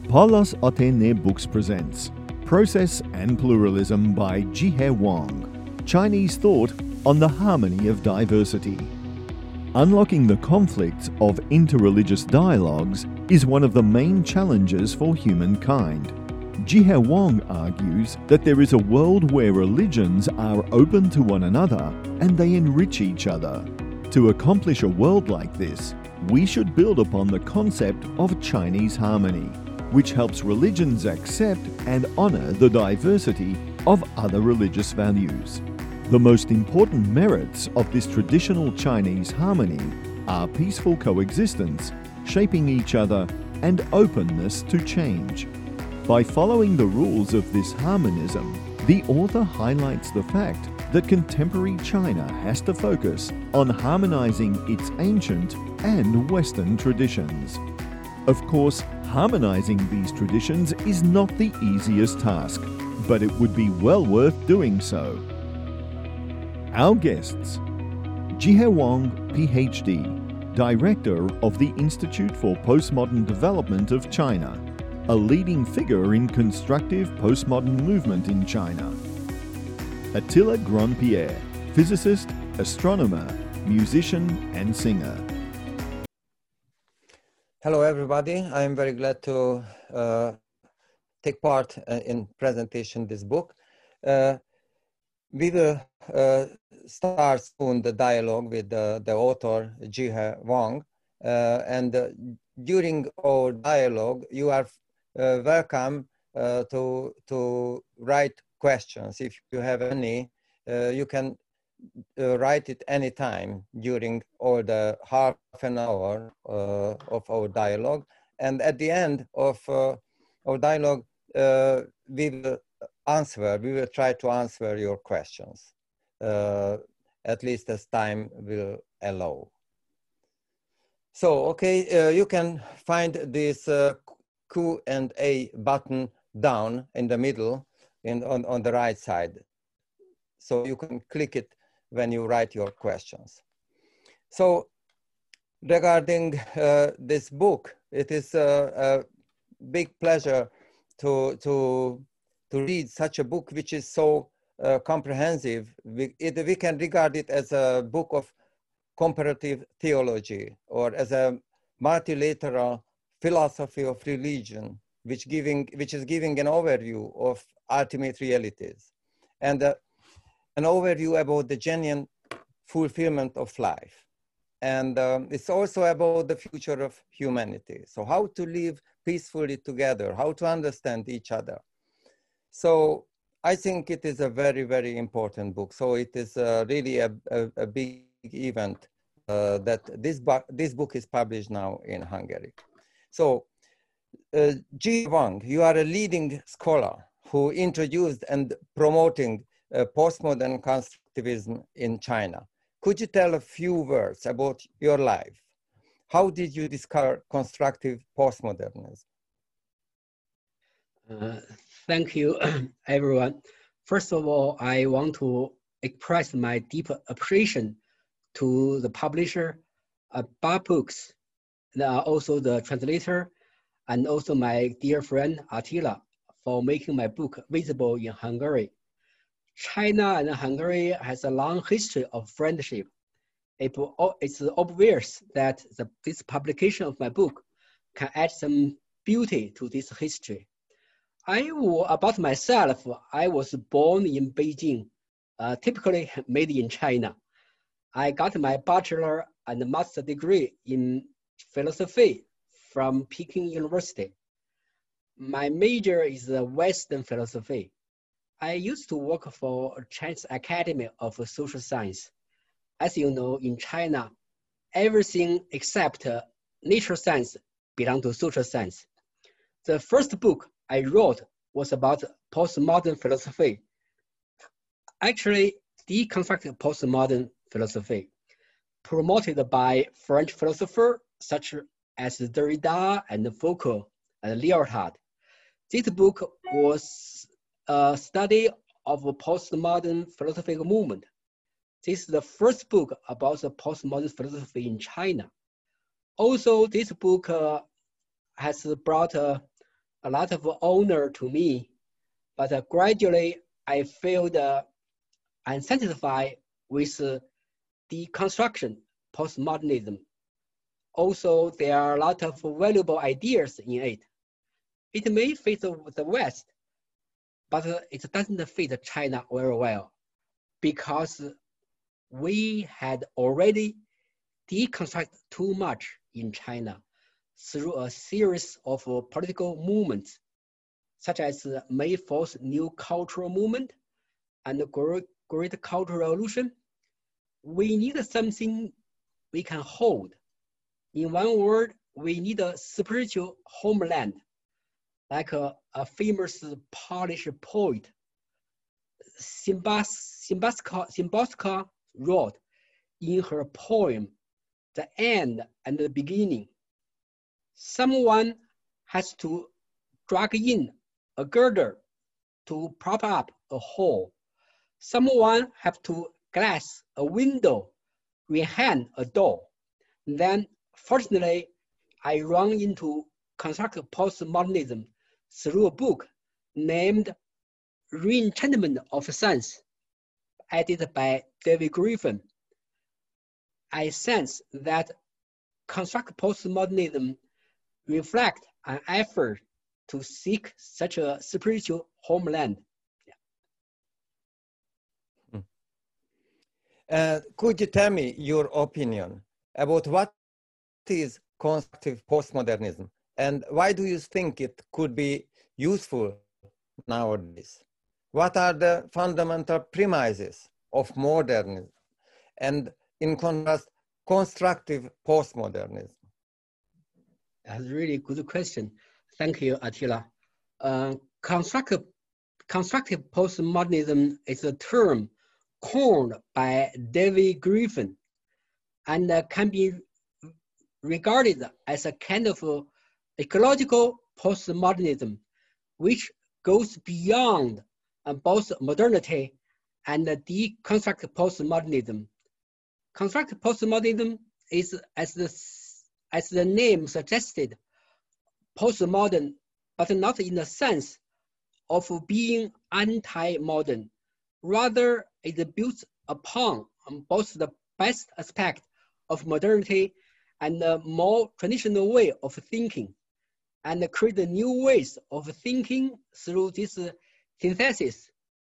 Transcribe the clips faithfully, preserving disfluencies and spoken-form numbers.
Paulus Otene Books presents Process and Pluralism by Jihe Wang, Chinese Thought on the Harmony of Diversity. Unlocking the conflicts of interreligious dialogues is one of the main challenges for humankind. Jihe Wang argues that there is a world where religions are open to one another and they enrich each other. To accomplish a world like this, we should build upon the concept of Chinese harmony, which helps religions accept and honor the diversity of other religious values. The most important merits of this traditional Chinese harmony are peaceful coexistence, shaping each other, and openness to change. By following the rules of this harmonism, the author highlights the fact that contemporary China has to focus on harmonizing its ancient and Western traditions. Of course, harmonizing these traditions is not the easiest task, but it would be well worth doing so. Our guests: Jihe Wang, P H D, Director of the Institute for Postmodern Development of China, a leading figure in constructive postmodern movement in China. Attila Grandpierre, physicist, astronomer, musician and singer. Hello everybody, I am very glad to uh, take part uh, in presentation this book. Uh, we will uh, start soon the dialogue with uh, the author Jihe Wang, uh, and uh, during our dialogue you are uh, welcome uh, to, to write questions. If you have any, uh, you can Uh, write it anytime during all the half an hour uh, of our dialogue. And at the end of uh, our dialogue, uh, we will answer, we will try to answer your questions, uh, at least as time will allow. So, okay, uh, you can find this uh, Q and A button down in the middle in, on, on the right side. So you can click it when you write your questions. So regarding uh, this book, it is a, a big pleasure to, to, to read such a book which is so uh, comprehensive. We, it, we can regard it as a book of comparative theology or as a multilateral philosophy of religion, which, giving, which is giving an overview of ultimate realities. And uh, an overview about the genuine fulfillment of life. And um, it's also about the future of humanity. So how to live peacefully together, how to understand each other. So I think it is a very, very important book. So it is uh, really a, a, a big event uh, that this, this book is published now in Hungary. So uh, Jihe Wang, you are a leading scholar who introduced and promoting Uh, postmodern constructivism in China. Could you tell a few words about your life? How did you discover constructive postmodernism? Uh, thank you, everyone. First of all, I want to express my deep appreciation to the publisher, uh, Bar Books, and also the translator, and also my dear friend Attila for making my book visible in Hungary. China and Hungary has a long history of friendship. It, it's obvious that the, this publication of my book can add some beauty to this history. I, about myself, I was born in Beijing, uh, typically made in China. I got my bachelor and master degree in philosophy from Peking University. My major is Western philosophy. I used to work for Chinese Academy of Social Science. As you know, in China, everything except uh, nature science belongs to social science. The first book I wrote was about postmodern philosophy. Actually, deconstructed postmodern philosophy, promoted by French philosophers such as Derrida and Foucault and Lyotard. This book was a study of a postmodern philosophical movement. This is the first book about the postmodern philosophy in China. Also, this book uh, has brought uh, a lot of honor to me, but uh, gradually I felt uh, unsatisfied with uh, deconstruction, postmodernism. Also, there are a lot of valuable ideas in it. It may fit the West, but it doesn't fit China very well because we had already deconstructed too much in China through a series of political movements, such as May fourth New Cultural Movement and the Great, Great Cultural Revolution. We need something we can hold. In one word, we need a spiritual homeland, like a, a famous Polish poet, Szymborska, Szymborska wrote in her poem, The End and the Beginning. Someone has to drag in a girder to prop up a hole. Someone has to glass a window, rehand a door. Then, fortunately, I run into constructive postmodernism through a book named Reenchantment of Science, edited by David Griffin. I sense that constructive postmodernism reflects an effort to seek such a spiritual homeland. Yeah. Uh, could you tell me your opinion about what is constructive postmodernism and why do you think it could be useful nowadays? What are the fundamental premises of modernism and, in contrast, constructive postmodernism? That's a really good question. Thank you, Attila. Uh, constructive, constructive postmodernism is a term coined by David Griffin and uh, can be regarded as a kind of uh, ecological postmodernism, which goes beyond uh, both modernity and uh, deconstructive postmodernism. Constructive postmodernism is, as the, as the name suggested, postmodern, but not in the sense of being anti-modern. Rather, it builds upon both the best aspect of modernity and a more traditional way of thinking, and create new ways of thinking through this synthesis.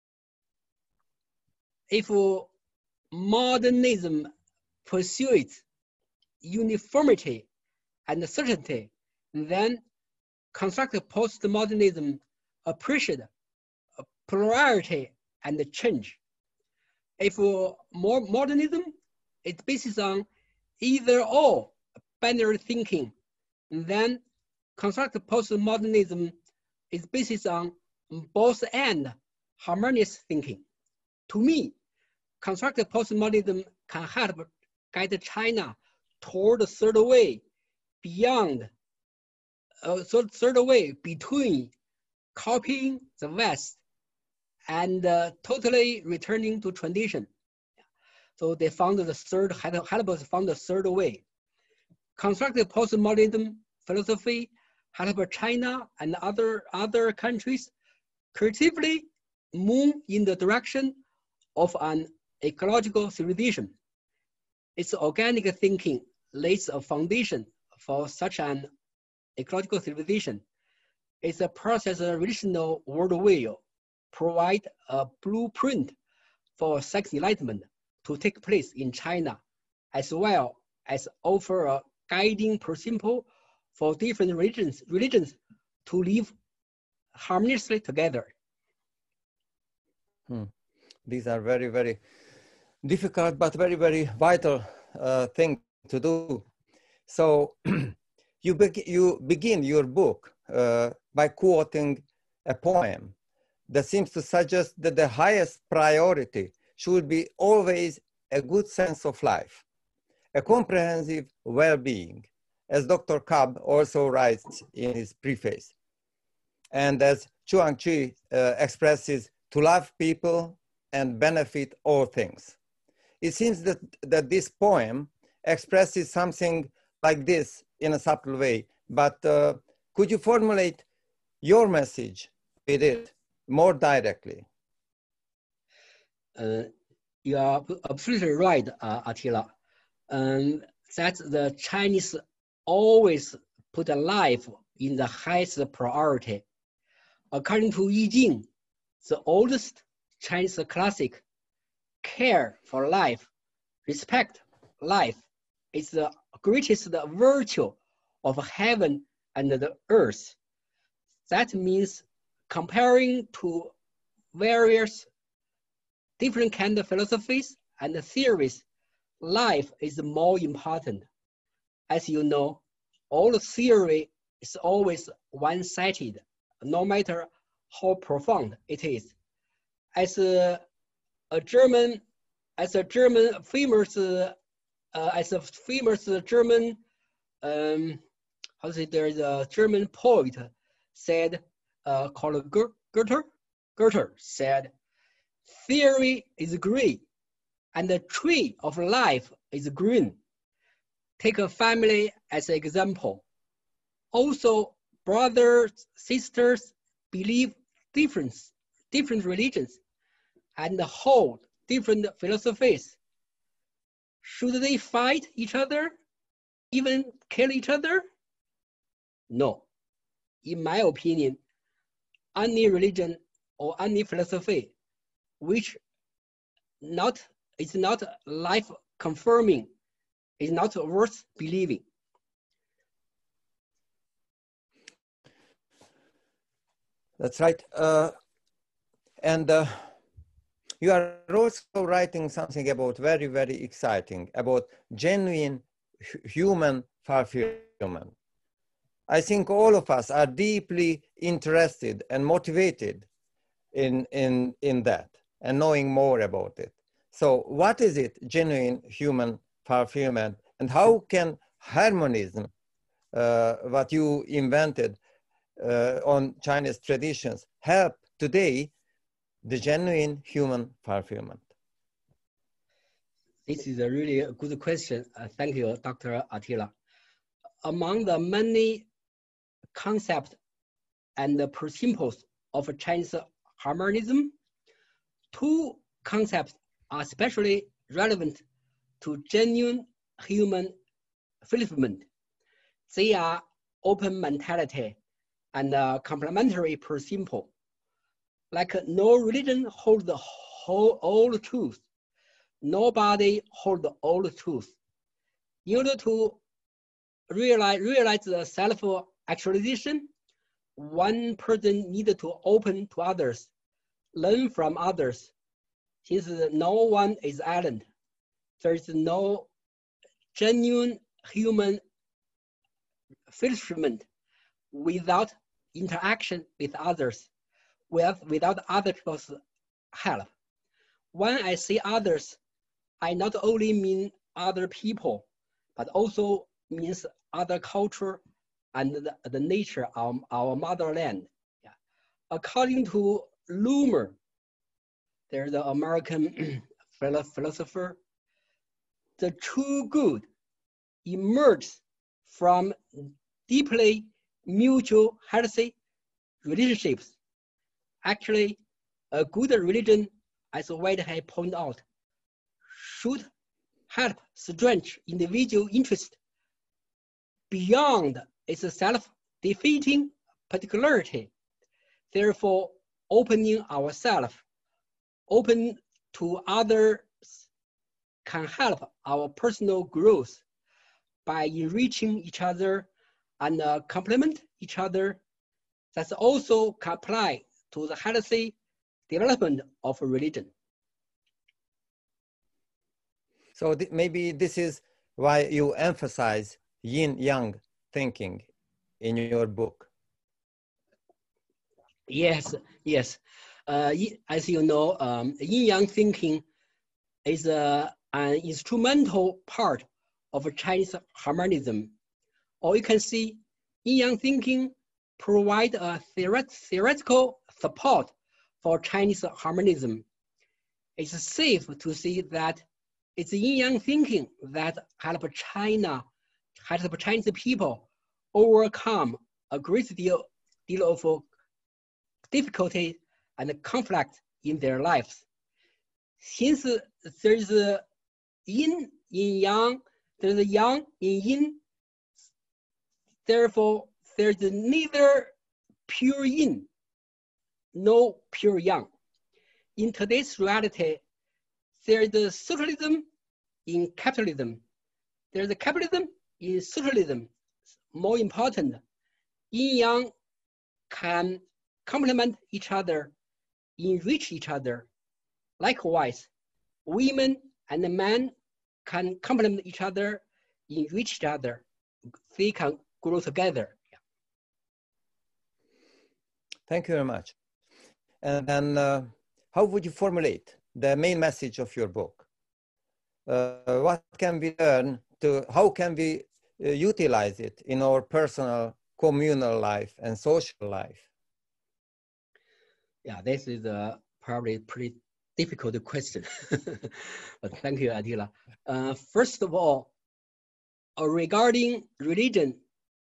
If modernism pursues uniformity and certainty, then constructive postmodernism appreciates plurality and change. If more modernism is based on either or binary thinking, then constructive postmodernism is based on both and harmonious thinking. To me, constructive postmodernism can help guide China toward the third way, beyond, uh, third way between copying the West and uh, totally returning to tradition. So they found the third, Heidelberg found the third way. Constructive postmodernism philosophy helped China and other, other countries creatively move in the direction of an ecological civilization. Its organic thinking lays a foundation for such an ecological civilization. Its process relational worldview provide a blueprint for sex enlightenment to take place in China, as well as offer a guiding principle for different religions, religions to live harmoniously together. Hmm. These are very, very difficult, but very, very vital uh, thing to do. So you, be you begin your book uh, by quoting a poem that seems to suggest that the highest priority should be always a good sense of life, a comprehensive well-being, as Doctor Cobb also writes in his preface. And as Chuang Tzu uh, expresses, to love people and benefit all things. It seems that, that this poem expresses something like this in a subtle way, but uh, could you formulate your message with it more directly. Uh, you are absolutely right, uh, Attila. Um, that the Chinese always put life in the highest priority. According to Yi Jing, the oldest Chinese classic, care for life, respect life is the greatest virtue of heaven and the earth. That means comparing to various different kind of philosophies and theories, life is more important. As you know, all theory is always one-sided, no matter how profound it is. As a, a German, as a German famous, uh, uh, as a famous German, um, how to say, there's a German poet said, uh, called Goethe. Goethe said, theory is grey, and the tree of life is green. Take a family as an example. Also, brothers, sisters believe different, different religions and hold different philosophies. Should they fight each other, even kill each other? No. In my opinion, any religion or any philosophy which not is not life confirming is not worth believing. That's right. Uh, and uh, you are also writing something about very, very exciting, about genuine human fulfillment. I think all of us are deeply interested and motivated in, in, in that and knowing more about it. So what is it, genuine human fulfillment, and how can harmonism, uh, what you invented uh, on Chinese traditions, help today the genuine human fulfillment? This is a really good question. Uh, thank you, Doctor Attila. Among the many concepts and the principles of Chinese harmonism, two concepts are especially relevant to genuine human fulfillment. They are open mentality and a complementary principle. Like no religion holds the whole all the truth. Nobody holds all the truth. In order to realize, realize the self-actualization, one person needed to open to others, learn from others. Since no one is island, there is no genuine human fulfillment without interaction with others, with, without other people's help. When I say others, I not only mean other people, but also means other culture and the, the nature of our motherland. Yeah. According to Loomer, there's an American philosopher, the true good emerges from deeply mutual healthy relationships. Actually, a good religion, as Whitehead pointed out, should help strengthen individual interest beyond its self-defeating particularity. Therefore, opening ourselves, open to others can help our personal growth by enriching each other and uh, complement each other. That also can apply to the healthy development of religion. So th maybe this is why you emphasize yin-yang thinking in your book. Yes, yes. Uh, as you know, um, yin-yang thinking is uh, an instrumental part of Chinese harmonism. Or you can see yin-yang thinking provide a theoret theoretical support for Chinese harmonism. It's safe to say that it's yin-yang thinking that help China, help Chinese people overcome a great deal, deal of difficulty and conflict in their lives. Since there is a yin in yang, there is a yang in yin, therefore there is neither pure yin nor pure yang. In today's reality, there is a socialism in capitalism. There is a capitalism in socialism. More important, yin yang can complement each other, enrich each other. Likewise, women and men can complement each other, enrich each other. They can grow together. Yeah. Thank you very much. And then uh, how would you formulate the main message of your book? Uh, what can we learn to, how can we uh, utilize it in our personal, communal life and social life? Yeah, this is a probably pretty difficult question. But thank you, Attila. Uh, first of all, uh, regarding religion,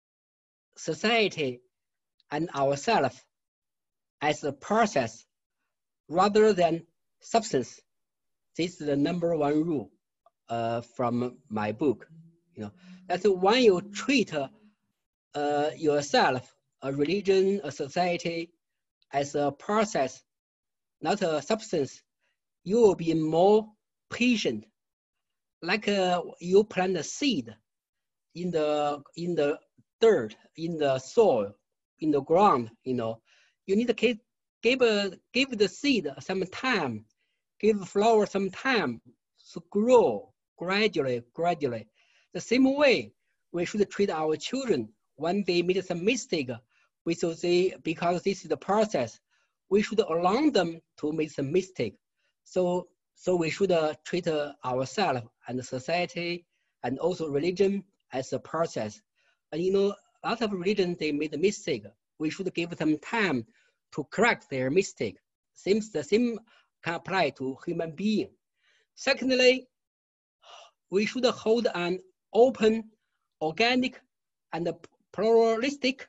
society, and ourselves as a process rather than substance, this is the number one rule uh, from my book. You know, that's when you treat uh, uh, yourself, a religion, a society, as a process, not a substance, you will be more patient. Like uh, you plant a seed in the in the dirt, in the soil, in the ground. You know, you need to give give, a, give the seed some time, give the flower some time to grow gradually, gradually. The same way we should treat our children when they made some mistake. We should say, because this is the process, we should allow them to make some mistake. So, so we should uh, treat uh, ourselves and the society and also religion as a process. And you know, a lot of religions, they made a mistake. We should give them time to correct their mistake. Seems the same can apply to human being. Secondly, we should hold an open, organic, and pluralistic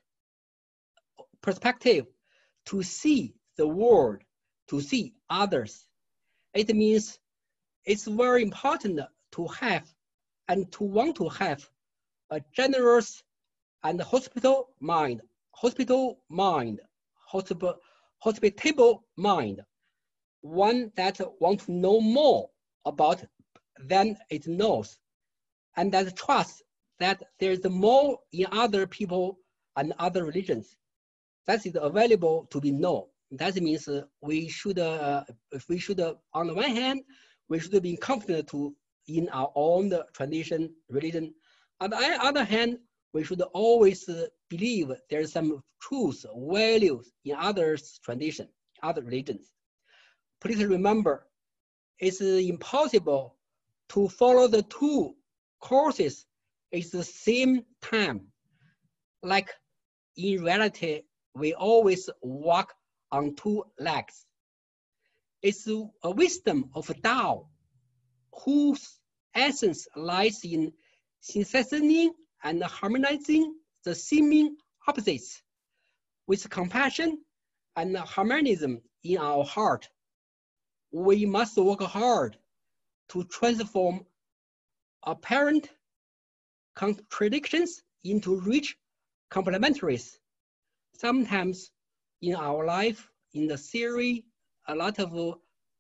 perspective to see the world, to see others. It means it's very important to have and to want to have a generous and hospitable mind, hospitable mind, hospitable, hospitable mind, one that wants to know more about than it knows, and that trusts that there's more in other people and other religions that is available to be known. That means uh, we should, uh, we should uh, on the one hand, we should be confident to in our own tradition, religion. On the other hand, we should always uh, believe there's some truth, values in others' tradition, other religions. Please remember, it's uh, impossible to follow the two courses at the same time. Like in reality, we always walk on two legs. It's a wisdom of Tao, whose essence lies in synthesizing and harmonizing the seeming opposites with compassion and harmonism in our heart. We must work hard to transform apparent contradictions into rich complementaries. Sometimes in our life, in the theory, a lot of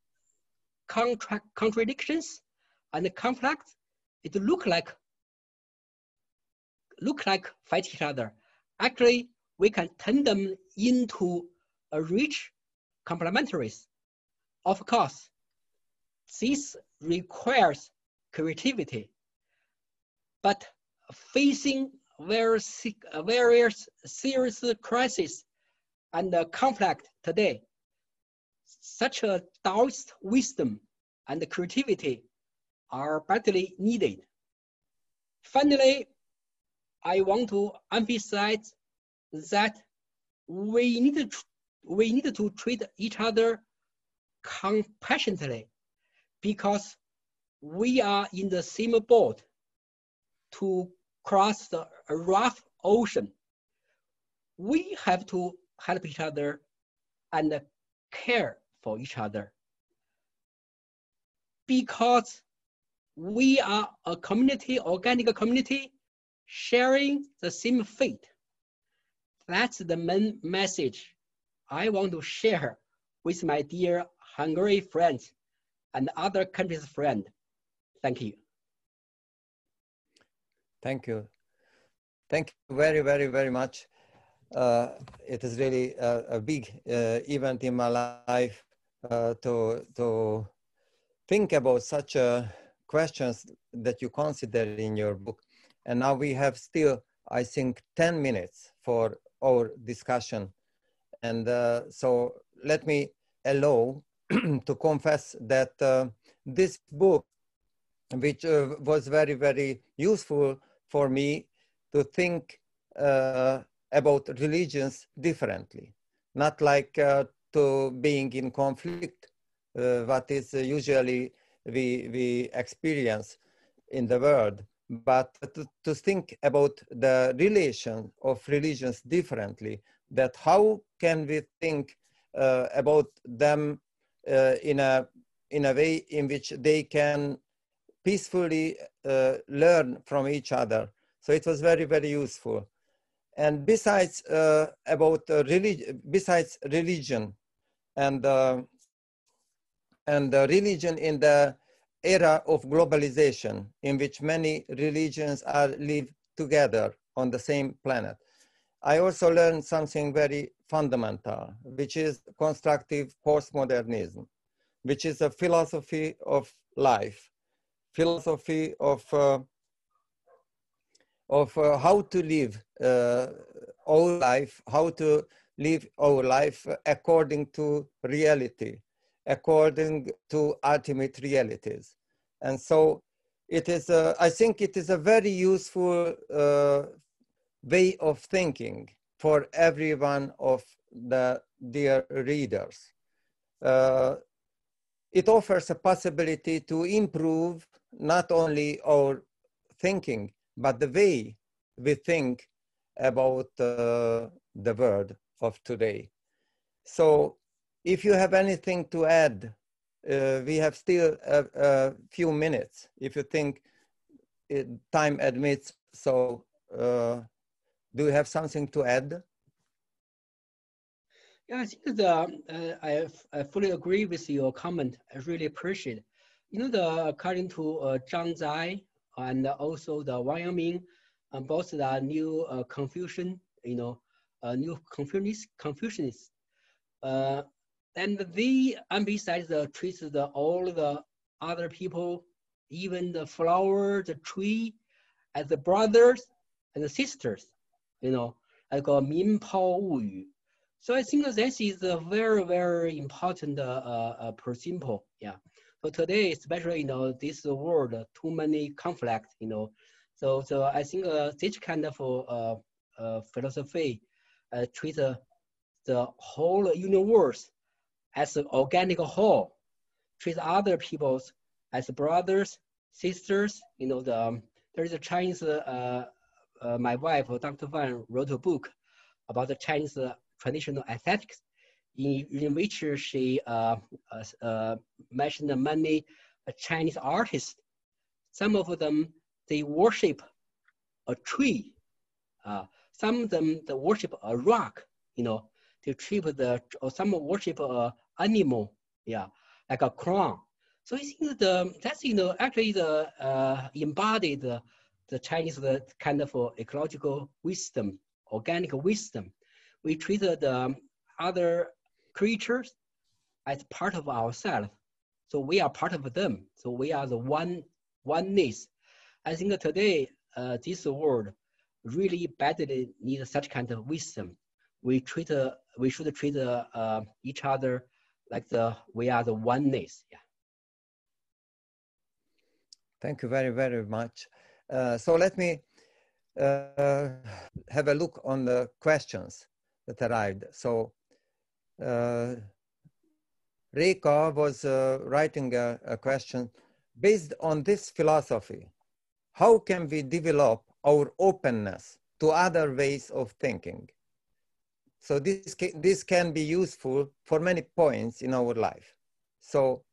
contra contradictions and conflicts, it look like look like fight each other. Actually, we can turn them into a rich complementaries. Of course, this requires creativity, but facing various, various serious crises and conflict today, such a Taoist wisdom and creativity are badly needed. Finally, I want to emphasize that we need to, we need to treat each other compassionately, because we are in the same boat to cross the rough ocean. We have to help each other and care for each other. Because we are a community, organic community, sharing the same fate. That's the main message I want to share with my dear Hungary friends and other countries' friends. Thank you. Thank you. Thank you very, very, very much. Uh, it is really a, a big uh, event in my life uh, to, to think about such uh, questions that you consider in your book. And now we have still, I think, ten minutes for our discussion. And uh, so let me allow to confess that uh, this book, which uh, was very, very useful for me to think uh, about religions differently, not like uh, to being in conflict, uh, what is uh, usually we, we experience in the world, but to, to think about the relation of religions differently, that how can we think uh, about them uh, in, a, in a way in which they can peacefully uh, learn from each other. So it was very, very useful. And besides uh, about uh, religion, besides religion and uh, and uh, religion in the era of globalization, in which many religions are live together on the same planet, I also learned something very fundamental, which is constructive postmodernism, which is a philosophy of life, philosophy of uh, of uh, how to live uh, our life, how to live our life according to reality, according to ultimate realities. And so it is, a, I think it is a very useful uh, way of thinking for every one of the dear readers. Uh, it offers a possibility to improve not only our thinking, but the way we think about uh, the world of today. So if you have anything to add, uh, we have still a, a few minutes, if you think it, time admits. So uh, do you have something to add? Yeah, I think the, uh, I, I fully agree with your comment. I really appreciate it. You know, the, according to uh, Zhang Zai and also the Wang Yangming, uh, both the new uh, Confucian, you know, uh, new Confucianists, Confucianists. Uh, and they emphasize the treats the all the other people, even the flower, the tree, as the brothers and the sisters, you know, like a Min Pao Wu Yu. So I think this is a very, very important uh, uh, principle. Yeah. So today, especially, you know, this world, uh, too many conflicts, you know. So, so I think uh, this kind of uh, uh, philosophy uh, treats uh, the whole universe as an organic whole, treat other peoples as brothers, sisters. You know, the um, there is a Chinese. Uh, uh, my wife, Doctor Fan, wrote a book about the Chinese uh, traditional aesthetics, in, in which she uh, uh, uh, mentioned many uh, Chinese artists. Some of them they worship a tree. Uh, some of them they worship a rock. You know, they worship the or some worship a animal. Yeah, like a crown. So I think the that's you know actually the uh, embodied the, the Chinese the kind of uh, ecological wisdom, organic wisdom. We treat the other creatures as part of ourselves, so we are part of them. So we are the one oneness. I think today uh, this world really badly needs such kind of wisdom. We treat uh, we should treat uh, uh, each other like the we are the oneness. Yeah. Thank you very, very much. Uh, so let me uh, have a look on the questions that arrived. So uh, Reka was uh, writing a, a question. Based on this philosophy, how can we develop our openness to other ways of thinking? So this can, this can be useful for many points in our life. So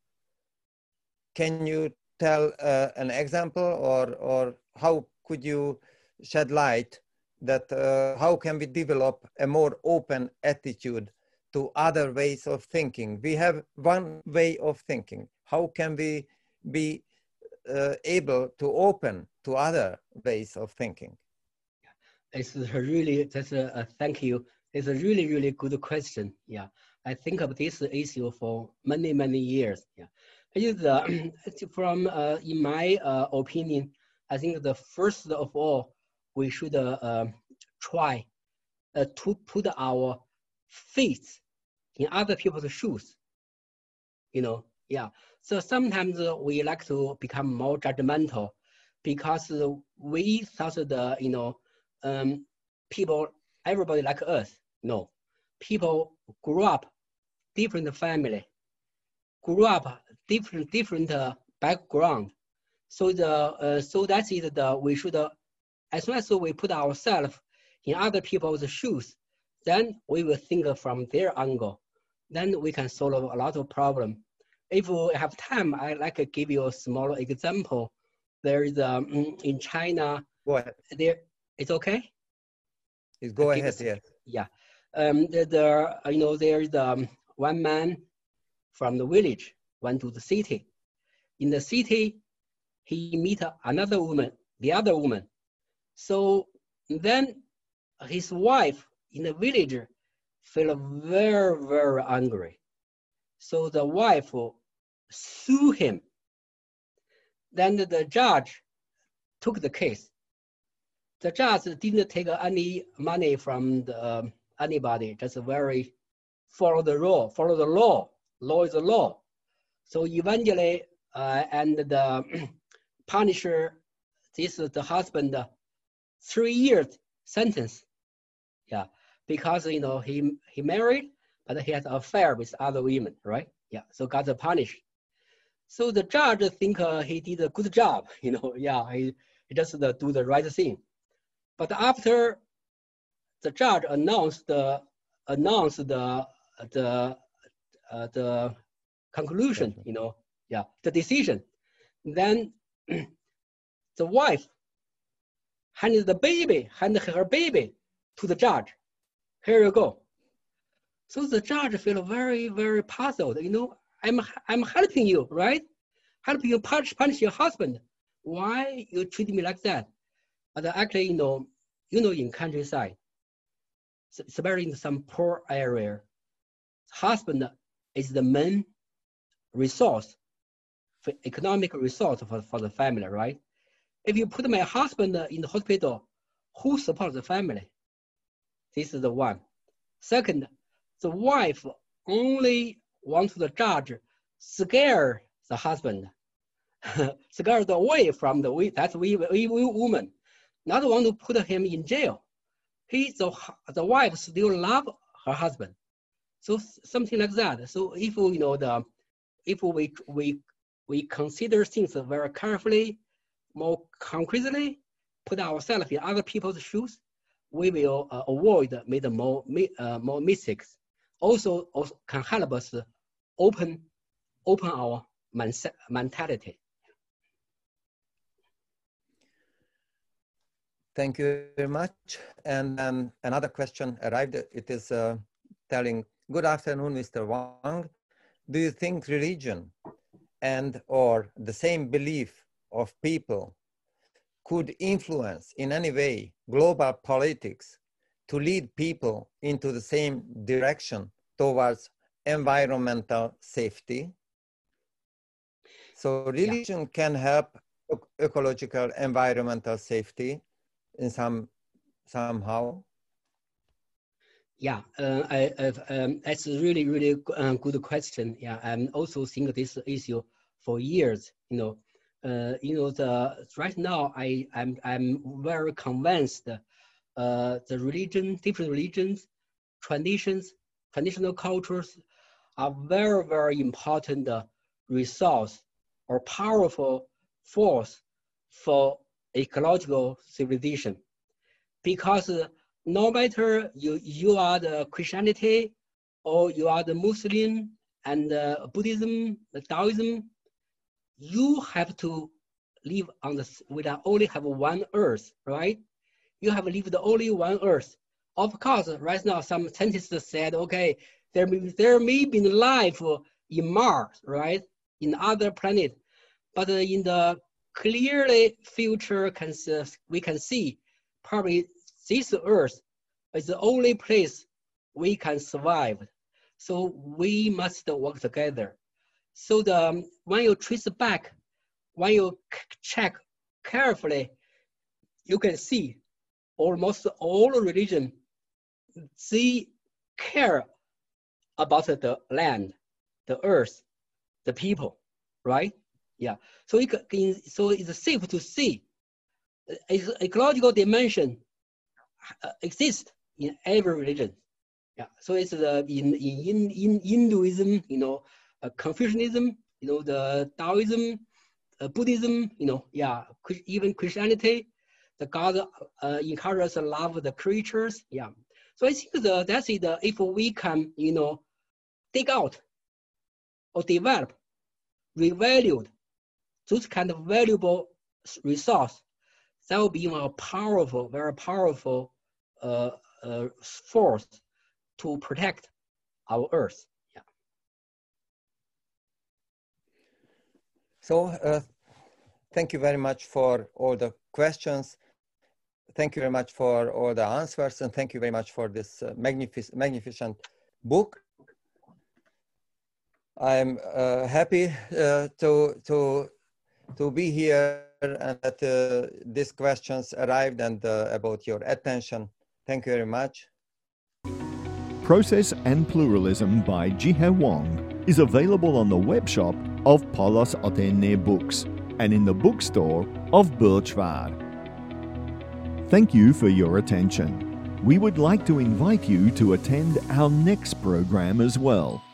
can you tell uh, an example, or, or how could you shed light that uh, how can we develop a more open attitude to other ways of thinking? We have one way of thinking. How can we be uh, able to open to other ways of thinking? It's a really, that's a, a thank you. It's a really, really good question. Yeah, I think of this issue for many, many years. Yeah, it's, uh, from uh, in my uh, opinion, I think the first of all, we should uh, uh, try uh, to put our faith in other people's shoes. You know, yeah. So sometimes uh, we like to become more judgmental because uh, we thought the, you know, um, people, everybody like us. No, people grew up different family, grew up different different uh, background. So the uh, so that's it. The we should uh, as soon as we put ourselves in other people's shoes, then we will think from their angle. Then we can solve a lot of problems. If we have time, I like to give you a small example. There is um, in China. Go ahead. There, it's okay. Please go ahead. Yes. Yeah. Um, there, there, you know, there is um, one man from the village went to the city. In the city, he meet another woman, the other woman. So then his wife in the village felt very, very angry. So the wife sued him. Then the judge took the case. The judge didn't take any money from the, um, anybody, just very follow the law, follow the law. Law is the law. So eventually, uh, and the punisher, this is the husband, uh, three years sentence. Yeah, because you know he he married, but he had an affair with other women, right? Yeah, so got punished. So the judge think uh, he did a good job, you know. Yeah, he, he just uh, do the right thing. But after the judge announced the announced the the uh, the conclusion, you know, yeah, the decision, then the wife handed the baby, handed her baby to the judge. Here you go. So the judge feel very, very puzzled. You know, I'm I'm helping you, right? Helping you punish punish your husband. Why you treat me like that? But actually, you know, you know, in countryside, it's very in some poor area. Husband is the main resource, for economic resource for, for the family, right? If you put my husband in the hospital, who supports the family? This is the one. Second, the wife only wants the judge scare the husband, scare away from the that's we, we, we woman, not want to put him in jail. He the the wife still love her husband, so something like that. So if you know the if we we we consider things very carefully, more concretely, put ourselves in other people's shoes, we will uh, avoid make more uh, more mistakes. Also, also can help us open open our mentality. Thank you very much. And um, another question arrived. It is uh, telling, good afternoon, Mister Wang. Do you think religion and or the same belief of people could influence in any way global politics to lead people into the same direction towards environmental safety? So religion yeah. can help ecological environmental safety in some somehow. Yeah, uh, I, um, that's a really, really uh, good question. Yeah, I'm also think this issue for years. You know, uh, you know, the right now I I'm I'm very convinced. Uh, the religion, different religions, traditions, traditional cultures are very, very important uh, resource or powerful force for ecological civilization, because uh, no matter you, you are the Christianity or you are the Muslim and uh, Buddhism, the Taoism, you have to live on the, we only have one earth, right? You have lived only one earth. Of course, right now, some scientists said, okay, there may, there may be life in Mars, right? In other planets, but in the clearly future, can, we can see probably this earth is the only place we can survive. So we must work together. So the, when you trace back, when you check carefully, you can see almost all religion, they care about the land, the earth, the people, right? Yeah. So it can, so it's safe to see ecological dimension exists in every religion. Yeah. So it's the in in in Hinduism, you know, uh, Confucianism, you know, the Taoism, uh, Buddhism, you know, yeah, even Christianity, the God uh, encourages love the creatures. Yeah. So I think the, that's it. Uh, if we can, you know, dig out or develop, revalued those kind of valuable resource, that will be a powerful, very powerful uh, uh, force to protect our Earth. Yeah. So uh, thank you very much for all the questions. Thank you very much for all the answers, and thank you very much for this uh, magnific magnificent book. I'm uh, happy uh, to to to be here and that uh, these questions arrived and uh, about your attention. Thank you very much. Process and Pluralism by Jihye Wang is available on the web shop of Paulus Otene Books and in the bookstore of Birchwald. Thank you for your attention. We would like to invite you to attend our next program as well.